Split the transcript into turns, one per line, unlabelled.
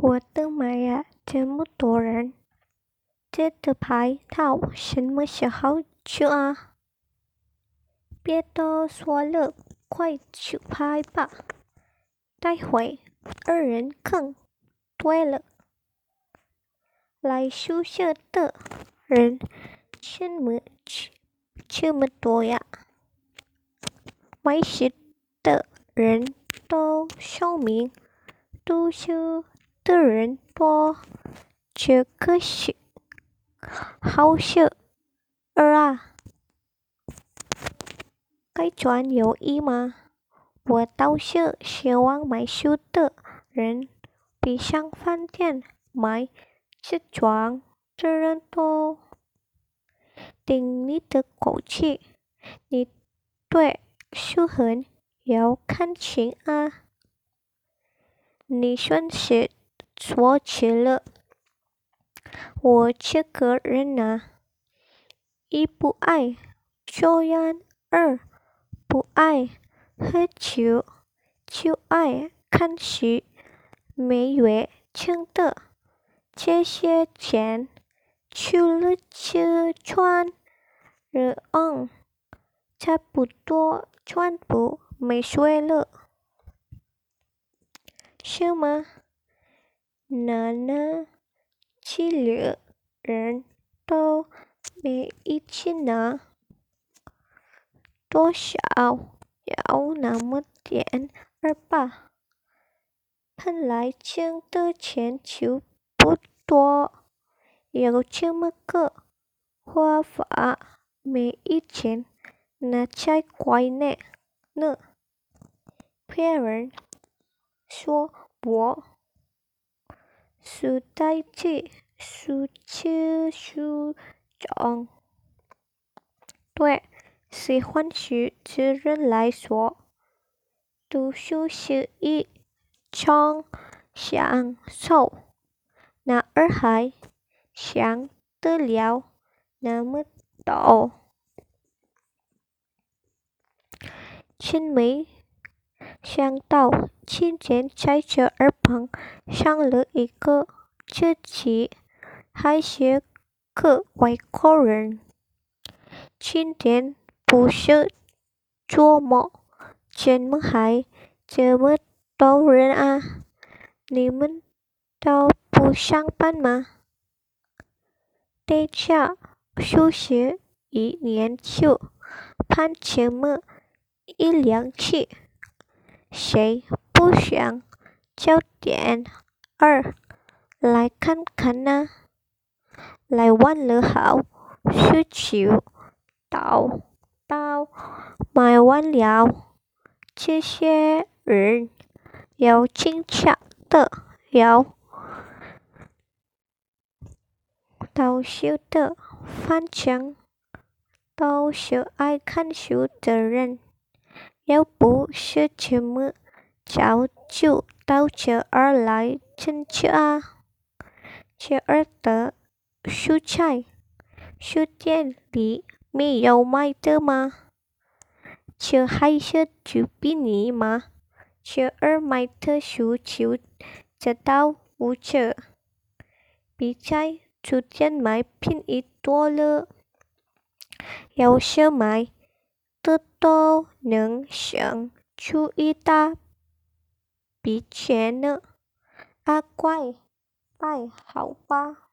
我的妈呀，这么多人，这的牌套什么时候出啊？别多说了，快去拍吧。待会二人坑。对了，来宿舍的人这么多呀？没事的人都说明读书的人多，这可是好事儿啊！该转有意吗？我倒是希望买书的人比上饭店买这装的人多。听你的口气，你对书很有感情啊！你算是说起了我这个人啊，一不爱抽烟，二不爱喝酒，就爱看书。每月挣的这些钱，除了吃穿热用，差不多全部没税了，是吗？那其余人都没一起拿，多少有那么点儿吧。本来挣的钱就不多，有这么个花法没一钱，那才怪呢。别人说我书呆子，书痴书肿，对喜欢书的人来说，读书是一种享受，哪儿还想得了那么多？真没想到今天在这儿碰上了一个自己还是个外国人。今天不是周末，怎么还这么多人啊？你们都不上班吗？大家休息一年就盼这么一两次，谁不想早点儿来看看呢？来晚了好，需求到买完了，这些人有经常的，有搞笑的，反正都是爱看书的人。要不是这么早就到这儿来真去啊？这儿的蔬菜书店里没有卖的吗？这还是主比你吗？这儿卖的书就知道无这比在书店买便宜多了，有时买的都能省出一大笔钱呢。啊，乖，拜好吧。